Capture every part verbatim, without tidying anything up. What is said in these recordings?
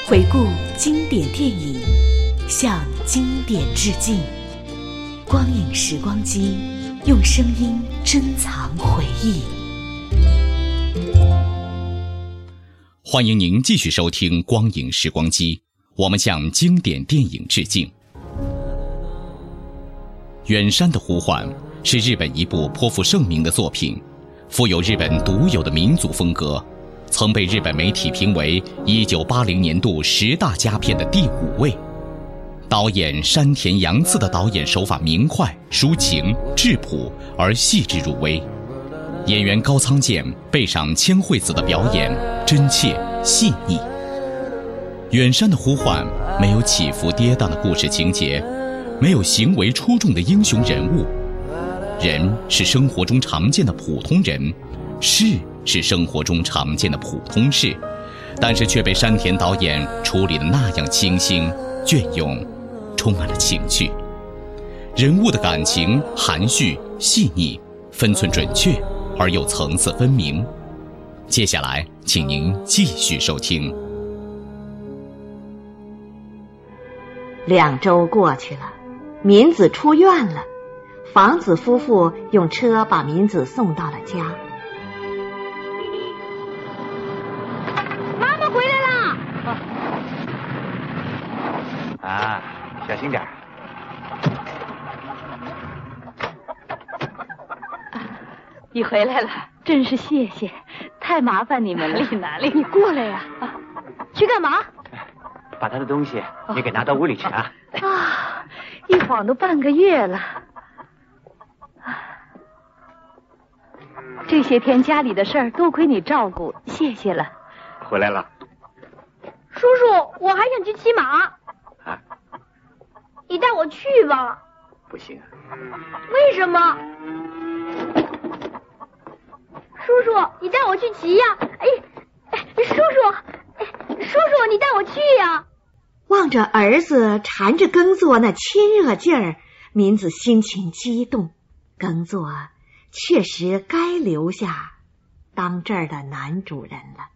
回顾经典电影，向经典致敬。光影时光机，用声音珍藏回忆。 欢迎您继续收听光影时光机，我们向经典电影致敬。远山的呼唤是日本一部颇负盛名的作品，富有日本独有的民族风格，曾被日本媒体评为一九八零年度十大佳片的第五位。导演山田洋次的导演手法明快、抒情、质朴而细致入微，演员高仓健背上千惠子的表演真切细腻。远山的呼唤没有起伏跌宕的故事情节，没有行为出众的英雄人物，人是生活中常见的普通人，事是生活中常见的普通事，但是却被山田导演处理得那样清新隽永，充满了情趣。人物的感情含蓄细腻，分寸准确而又层次分明。接下来请您继续收听。 两周过去了，民子出院了，房子夫妇用车把民子送到了家。 妈妈回来啦！ 啊，小心点。 你回来了，真是谢谢，太麻烦你们了。哪里哪里，你过来呀！啊，去干嘛？ 把他的东西也给拿到屋里去啊！ 啊，一晃都半个月了。这些天家里的事儿多亏你照顾，谢谢了。 回来了。 叔叔，我还想去骑马。 啊？ 你带我去吧。 不行。 为什么？叔叔，你带我去骑呀！哎，哎，叔叔，哎，叔叔，你带我去呀！ 望着儿子缠着耕作那亲热劲儿，民子心情激动。耕作确实该留下当这儿的男主人了。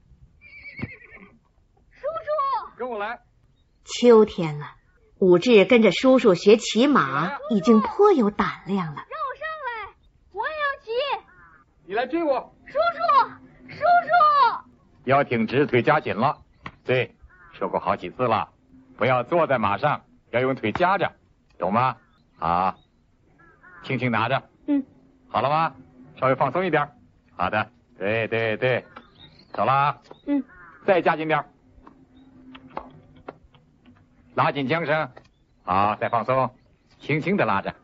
叔叔， 跟我来。 秋天了，武志跟着叔叔学骑马，已经颇有胆量了。 让我上来，我也要骑。 你来追我。 叔叔，叔叔。 腰挺直，腿夹紧了。对，说过好几次了，不要坐在马上，要用腿夹着，懂吗？好，轻轻拿着。 嗯。 好了吗？稍微放松一点。好的，对对对，走了。 嗯。 再夹紧点，拉紧缰绳。好，再放松，轻轻的拉着。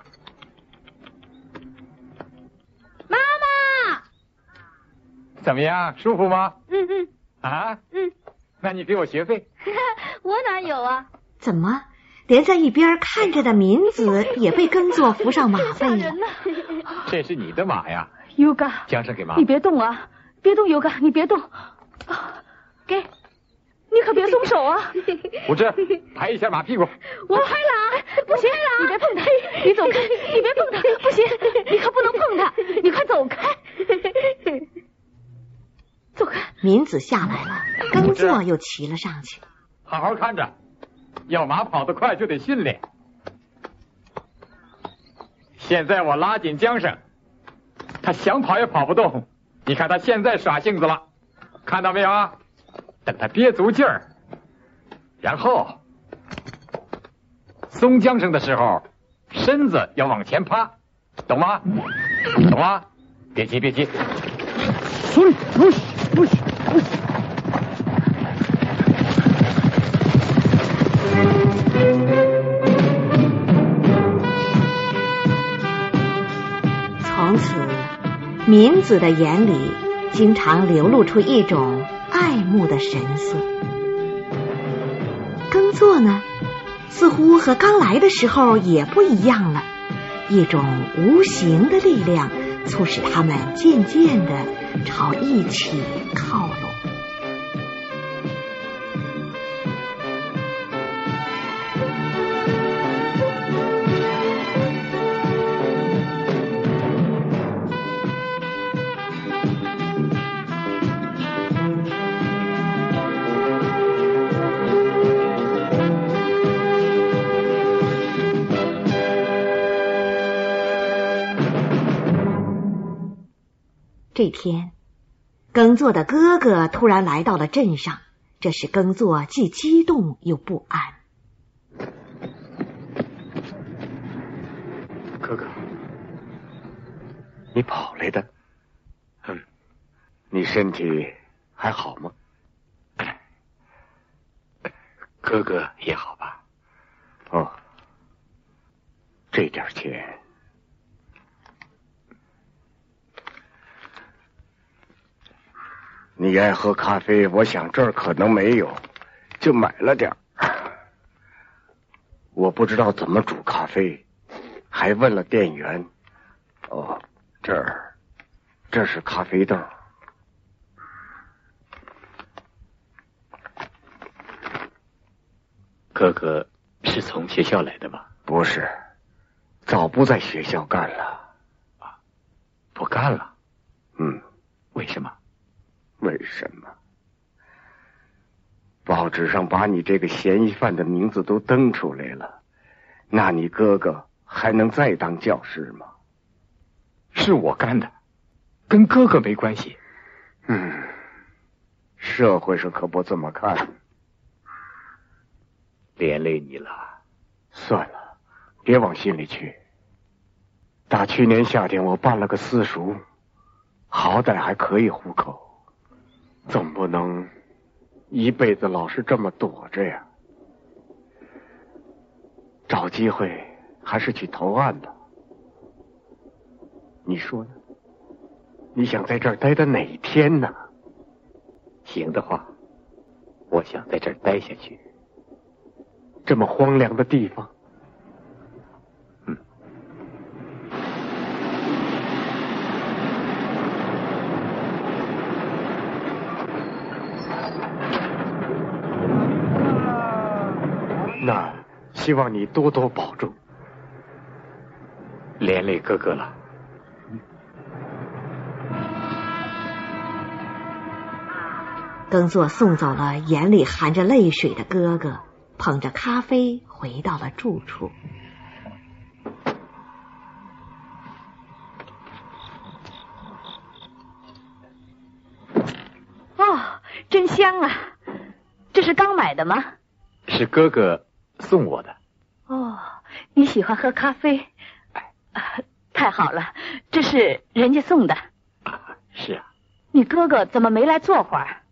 妈妈， 怎么样，舒服吗？ 嗯嗯。 啊？ 嗯。 那你给我学费。 我哪有啊？ 怎么连在一边看着的民子也被耕作扶上马背了？ 这是你的马呀， 优嘎， 缰绳给妈。 你别动啊，别动，优嘎，你别动。啊，给，你可别松手啊！ 武志，拍一下马屁股。 我拍了啊，不行了，你别碰他，你走开，你别碰他，不行，你可不能碰他，你快走开，走开。 民子下来了，耕作又骑了上去。 好好看着，要马跑得快就得训练。现在我拉紧缰绳，他想跑也跑不动。你看他现在耍性子了，看到没有啊？等他憋足劲儿，然后松缰绳的时候，身子要往前趴，懂吗？懂吗？别急别急。 从此，民子的眼里经常流露出一种爱慕的神色。耕作呢，似乎和刚来的时候也不一样了，一种无形的力量促使他们渐渐地朝一起靠拢。 这天，耕作的哥哥突然来到了镇上，这使耕作既激动又不安。 哥哥，你跑来的？嗯，你身体还好吗？哥哥也好吧？哦，这点钱，你爱喝咖啡，我想这儿可能没有，就买了点儿。我不知道怎么煮咖啡，还问了店员。哦，这儿，这是咖啡豆。 哥哥是从学校来的吗？ 不是，早不在学校干了。 啊，不干了？ 嗯， 为什么？ 为什么？报纸上把你这个嫌疑犯的名字都登出来了，那你哥哥还能再当教师吗？ 是我干的，跟哥哥没关系。 嗯，社会上可不这么看。 连累你了。 算了，别往心里去。打去年夏天我办了个私塾，好歹还可以糊口，总不能一辈子老是这么躲着呀。找机会还是去投案吧。你说呢？你想在这儿待到哪天呢？ 行的话，我想在这儿待下去。 这么荒凉的地方， 嗯。 那希望你多多保重。 连累哥哥了。 耕作送走了眼里含着泪水的哥哥，捧着咖啡回到了住处。 哦，真香啊！这是刚买的吗？ 是哥哥送我的。 哦，你喜欢喝咖啡？啊，太好了，这是人家送的。 啊，是啊。 你哥哥怎么没来坐会儿？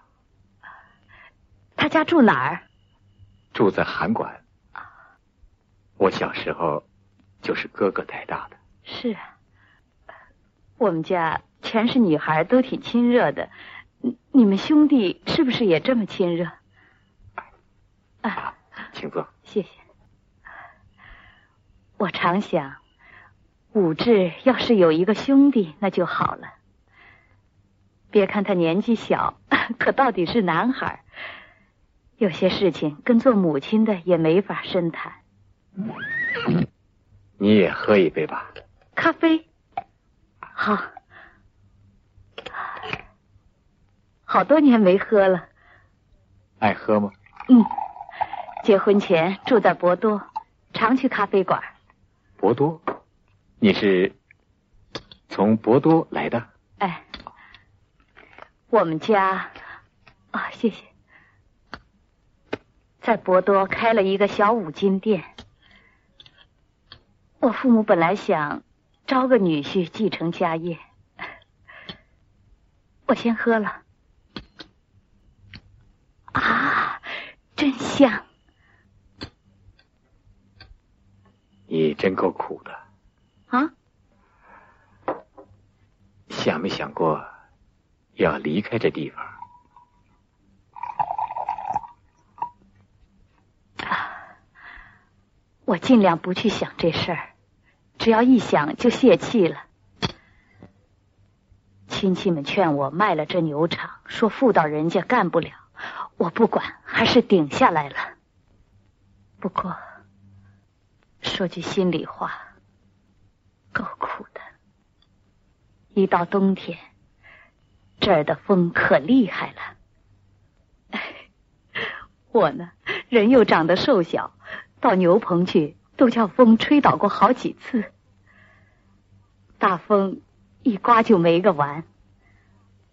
他家住哪儿？ 住在函馆。我小时候就是哥哥带大的。 是啊，我们家全是女孩，都挺亲热的。你们兄弟是不是也这么亲热？ 啊，请坐。 谢谢。我常想，武志要是有一个兄弟那就好了。别看他年纪小，可到底是男孩，有些事情跟做母亲的也没法深谈。 你也喝一杯吧。 咖啡。好。好多年没喝了。 爱喝吗？ 嗯，结婚前住在博多，常去咖啡馆。 博多？你是从博多来的？ 哎，我们家啊，谢谢，在博多开了一个小五金店。我父母本来想招个女婿继承家业，我先喝了。啊，真香！ 你真够苦的啊！ 想没想过要离开这地方？ 啊，我尽量不去想这事儿，只要一想就泄气了。亲戚们劝我卖了这牛场，说妇道人家干不了，我不管，还是顶下来了。不过说句心里话，够苦的。一到冬天，这儿的风可厉害了。我呢，人又长得瘦小，到牛棚去都叫风吹倒过好几次。大风一刮就没个完，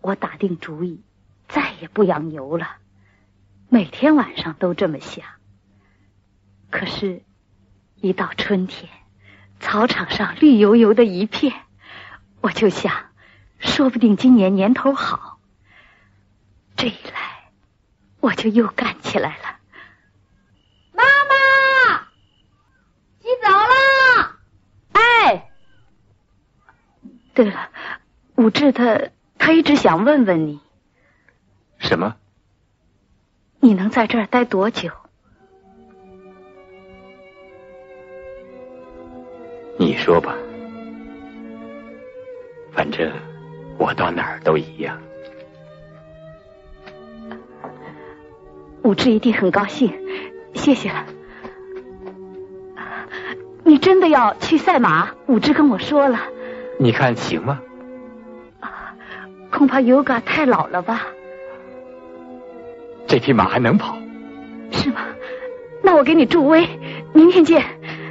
我打定主意，再也不养牛了。每天晚上都这么想。可是，一到春天，草场上绿油油的一片，我就想，说不定今年年头好。这一来，我就又干起来了。 妈妈，洗澡了。 哎，对了，武志他他一直想问问你， 什么？ 你能在这儿待多久？ 你说吧，反正我到哪儿都一样。 武志一定很高兴，谢谢了。你真的要去赛马？武志跟我说了。 你看行吗？ 恐怕 Yoga 太老了吧？ 这匹马还能跑？ 是吗？那我给你助威，明天见。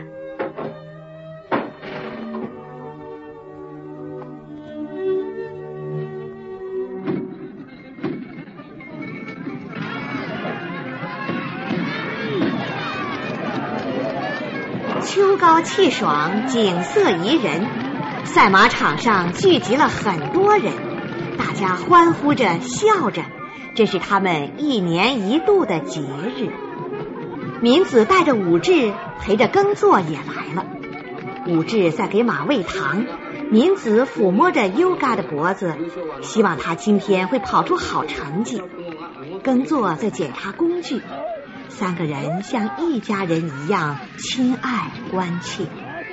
秋高气爽，景色宜人，赛马场上聚集了很多人，大家欢呼着笑着，这是他们一年一度的节日。民子带着武志陪着耕作也来了，武志在给马喂糖，民子抚摸着 Yoga 的脖子，希望他今天会跑出好成绩。耕作在检查工具，三个人像一家人一样亲爱关切。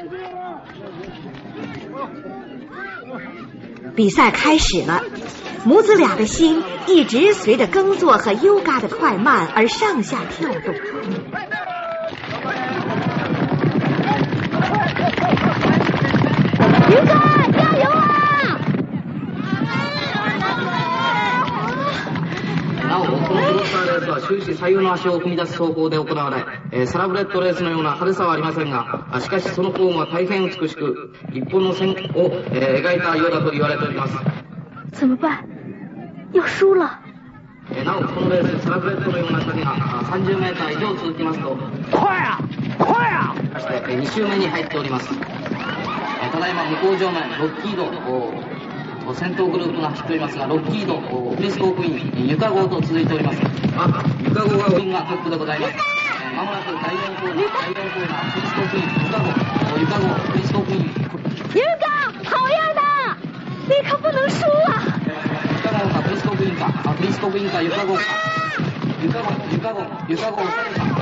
比赛开始了，母子俩的心一直随着耕作和 Yoga 的快慢而上下跳动。 Yoga，加油啊！ なお、このクロスターレースは終始左右の足を踏み出す走行で行われ、えー、サラブレッドレースのような派手さはありませんが、しかしそのフォームは大変美しく、一本の線を、えー、描いたようだと言われております。 怎么办？要輸了。 えー、なお、このレース、サラブレッドのような仕掛けがさんじゅうメーター以上続きますと、 快啊快啊！ そして、えー、に周目に入っております。えー、ただいま向こう上面、ロッキード、先頭グループが走っておりますが、ロッキード、フリスコークイーン、ユカ号と続いております。あ、ユカ号がウィンがトップでございます。まもなく第よんコーナー、第よんコーナー、フリスコークイーン、ユカ号、ユカ号、フリスコークイーン。 Yoga，好样的！你可不能输啊！ ユカ号かフリスコークイーンか、あ、フリスコークイーンかユカ号か。ユカ号、ユカ号、ユカ号を抑えた。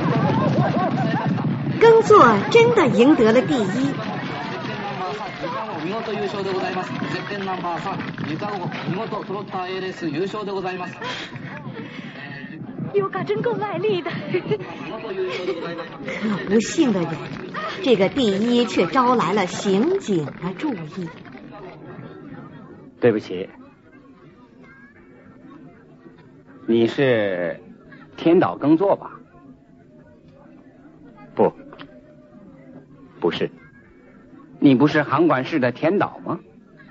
耕作真的赢得了第一。 見事優勝でございます。ゼッケンナンバーさん、ユカ号見事トロッター エー レース優勝でございます。 Yoga 真够卖力的。 可不幸的人，这个第一却招来了刑警的注意。 对不起，你是天岛耕作吧？ 不，不是。 你不是函馆市的田岛吗？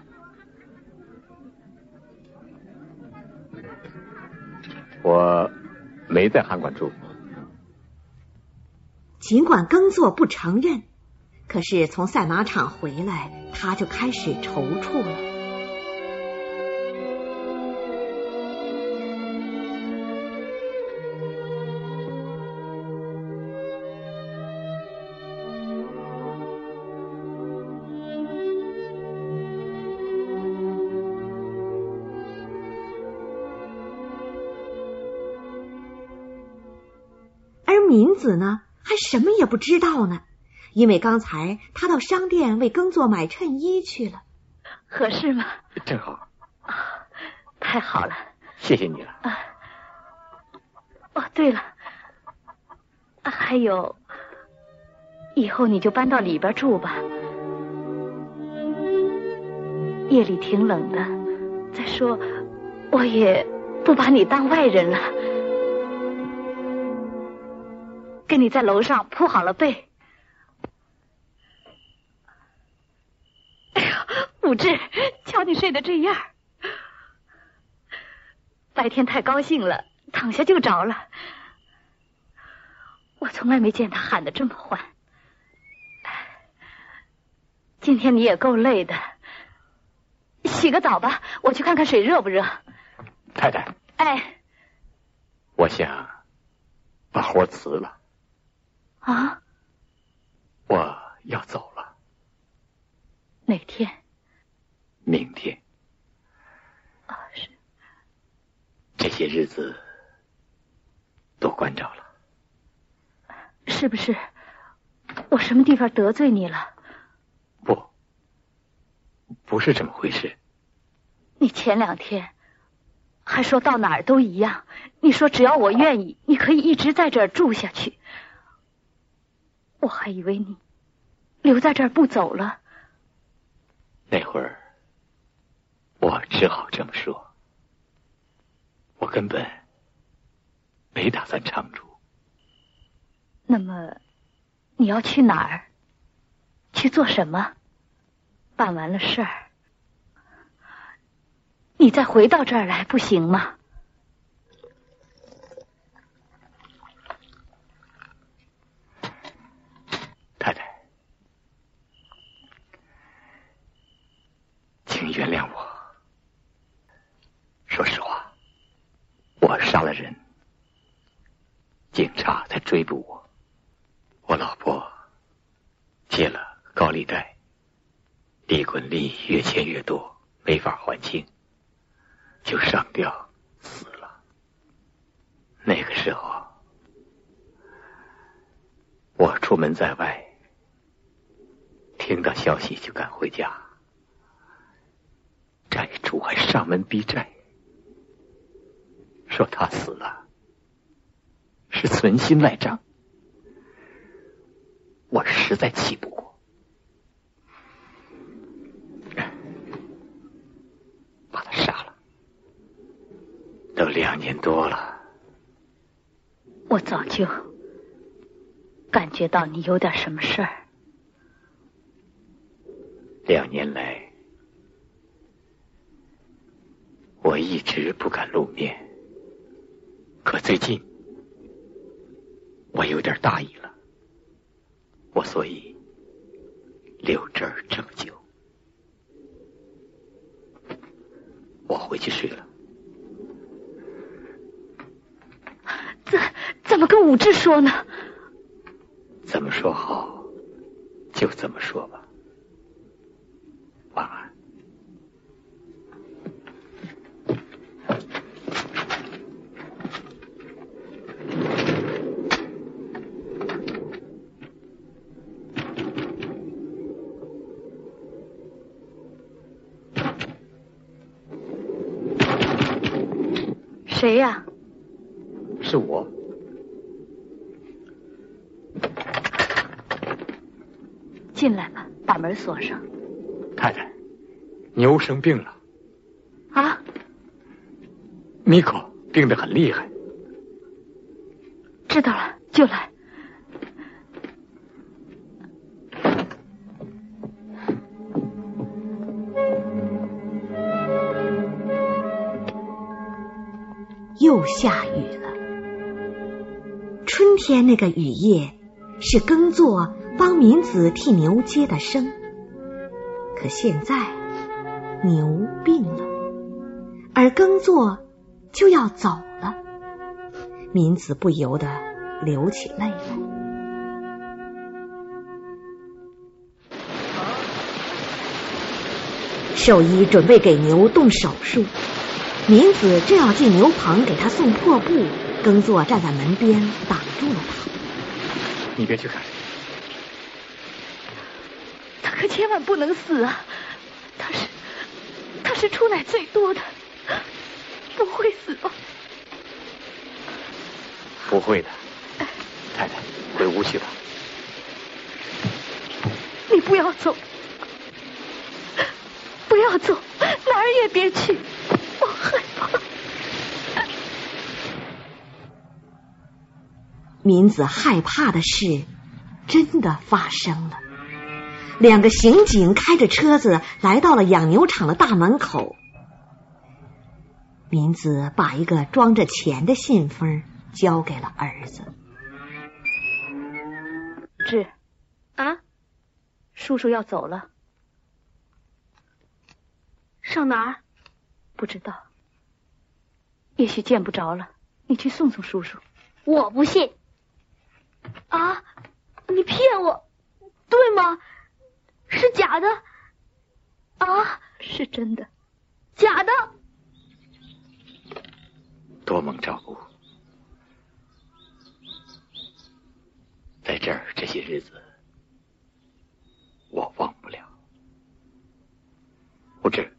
我没在函馆住。 尽管耕作不承认，可是从赛马场回来，他就开始踌躇了。民子呢，还什么也不知道呢，因为刚才他到商店为耕作买衬衣去了。 合适吗？ 正好。 啊，太好了， 谢谢你了。 啊，哦，对了，啊，还有，以后你就搬到里边住吧，夜里挺冷的。再说，我也不把你当外人了。跟你在楼上铺好了被。哎呦，武志，瞧你睡得这样。 白天太高兴了，躺下就着了。我从来没见他喊得这么欢。今天你也够累的，洗个澡吧，我去看看水热不热。 太太， 哎， 我想把活辞了。 啊？ 我要走了。 哪天？ 明天。 啊，是。 这些日子都关照了。 是不是我什么地方得罪你了？ 不，不是这么回事。 你前两天还说到哪儿都一样，你说只要我愿意，你可以一直在这儿住下去。我还以为你留在这儿不走了。 那会儿我只好这么说，我根本没打算常住。 那么你要去哪儿？去做什么？办完了事儿，你再回到这儿来不行吗？ 太太，请原谅我。说实话，我杀了人，警察才追捕我。我老婆借了高利贷，利滚利越欠越多，没法还清，就上吊死了。那个时候，我出门在外，听到消息就赶回家，债主还上门逼债，说他死了是存心赖账。我实在气不过，把他杀了。都两年多了， 我早就感觉到你有点什么事儿。 两年来，我一直不敢露面，可最近我有点大意了。我所以留这儿这么久。我回去睡了。 怎怎么跟武志说呢？ 怎么说好就怎么说吧。晚安。 谁呀？ 是我。 进来吧，把门锁上。 太太，牛生病了。 啊？ 米可病得很厉害。 知道了，就来。 又下雨了。春天那个雨夜是耕作帮民子替牛接的生，可现在牛病了，而耕作就要走了，民子不由得流起泪来。兽医准备给牛动手术，民子正要进牛棚给他送破布，耕作站在门边挡住了他。 你别去看， 他可千万不能死啊！他是他是出奶最多的，不会死吧？ 不会的，太太，回屋去吧。 你不要走，不要走，哪儿也别去，我害怕。 民子害怕的事真的发生了。两个刑警开着车子来到了养牛场的大门口。 民子把一个装着钱的信封交给了儿子。 志， 啊， 叔叔要走了。 上哪儿？ 不知道，也许见不着了。你去送送叔叔。 我不信。啊，你骗我，对吗？是假的？啊， 是真的。 假的。 多蒙照顾，在这儿这些日子我忘不了。不知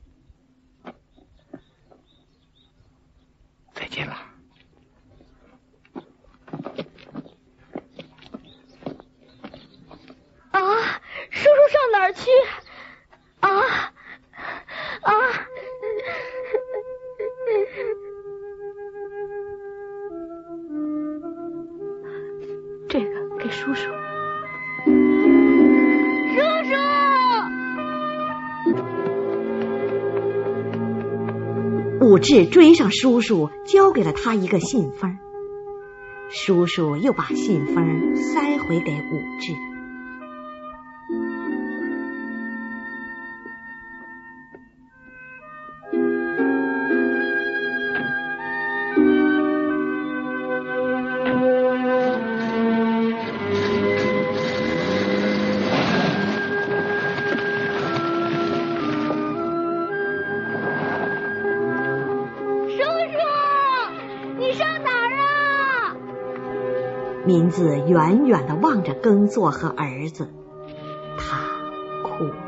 再见了。 啊，叔叔上哪儿去？啊啊！ 这个给叔叔。 叔叔！ 武志追上叔叔，交给了他一个信封。叔叔又把信封塞回给武志。民子远远地望着耕作和儿子，他哭了。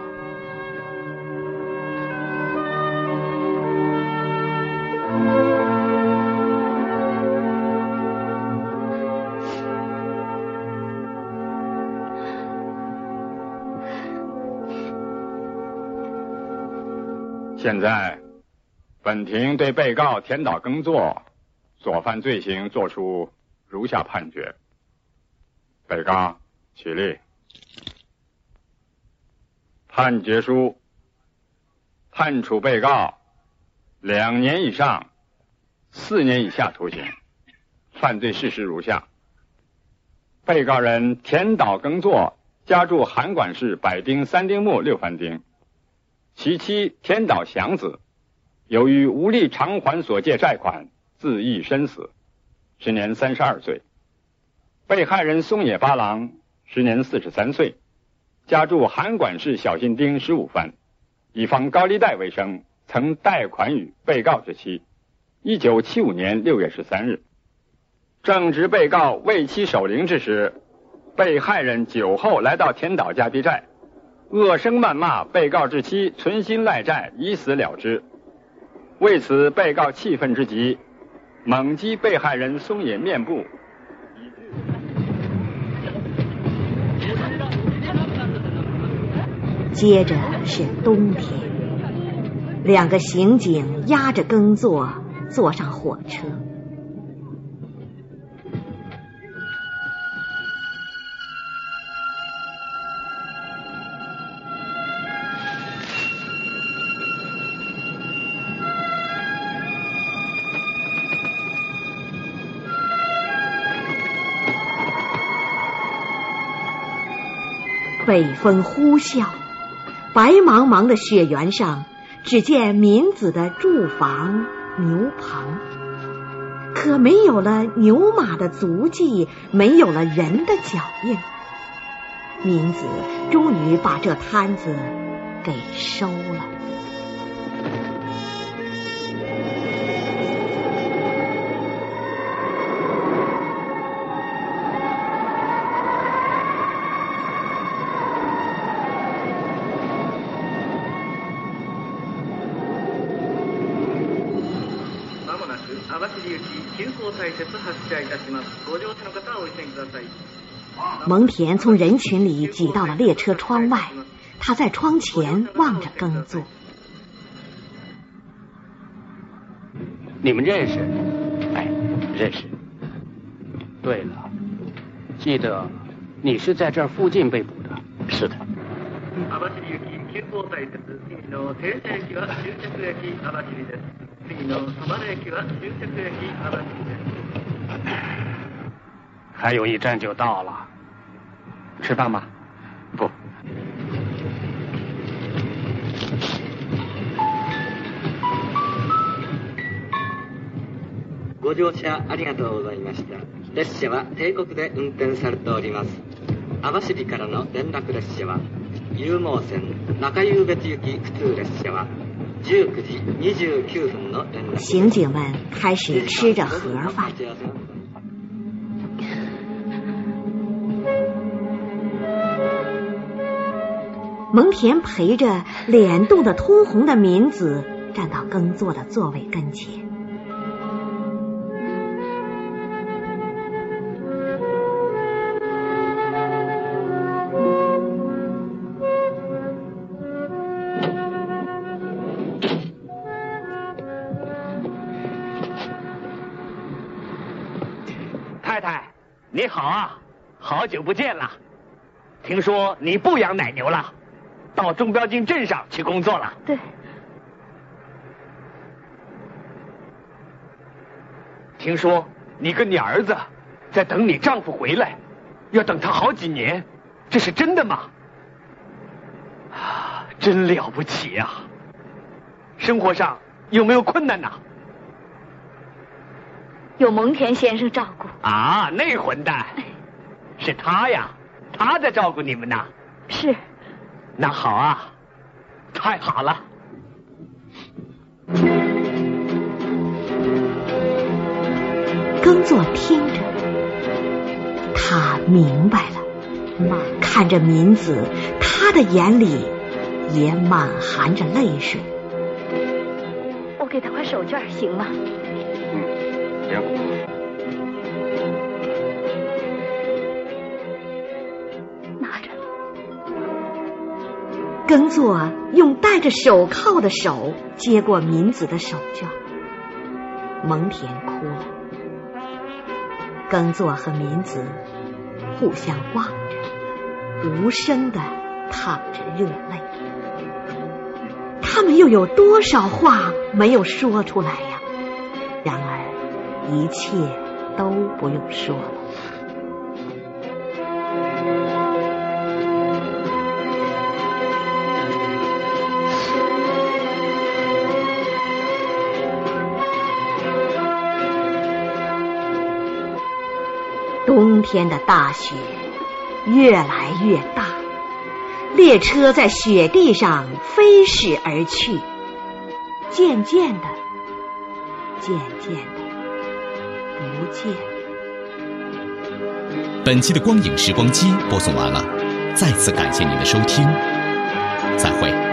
现在，本庭对被告田岛耕作所犯罪行作出如下判决。被告起立。判决书判处被告两年以上四年以下徒刑。犯罪事实如下：被告人田岛耕作家住函馆市百丁三丁目六番町，其妻田岛祥子由于无力偿还所借债款，自缢身死，时年三十二岁。被害人松野八郎时年四十三岁，家住函馆市小新町十五番，以放高利贷为生，曾贷款与被告之妻。一九七五年六月十三日，正值被告为妻守灵之时，被害人酒后来到田岛家逼债，恶声谩骂被告之妻，存心赖债，以死了之。为此，被告气愤之极，猛击被害人松野面部。 接着是冬天，两个刑警押着耕作坐上火车。北风呼啸，白茫茫的雪原上，只见民子的住房、牛棚，可没有了牛马的足迹，没有了人的脚印。民子终于把这摊子给收了。蒙恬从人群里挤到了列车窗外，他在窗前望着耕作。 你们认识？ 哎，认识。 对了，记得你是在这儿附近被捕的。 是的。 还有一站就到了，吃饭吗？ 不。 ご乗車ありがとうございました。列車は定刻で運転されております。網走からの連絡列車は有毛線中湧別行き普通列車はじゅうくじにじゅうきゅうふんの連絡。 刑警们开始吃着盒饭。蒙恬陪着脸冻得通红的民子站到耕作的座位跟前。 太太，你好啊，好久不见了。听说你不养奶牛了，到中标津镇上去工作了。 对。 听说你跟你儿子在等你丈夫回来，要等他好几年，这是真的吗？啊，真了不起啊！生活上有没有困难呢？ 有蒙恬先生照顾。 啊，那混蛋，是他呀，他在照顾你们呢。 是。 那好啊，太好了。 耕作听着，他明白了，看着民子，他的眼里也满含着泪水。 我给他块手绢行吗？ 嗯，行。 拿着。 耕作用戴着手铐的手接过民子的手绢，蒙恬哭了。耕作和民子互相望着，无声地淌着热泪。他们又有多少话没有说出来呀？然而一切都不用说了。冬天的大雪越来越大，列车在雪地上飞驶而去，渐渐的，渐渐的不见。 本期的光影时光机播送完了，再次感谢您的收听，再会。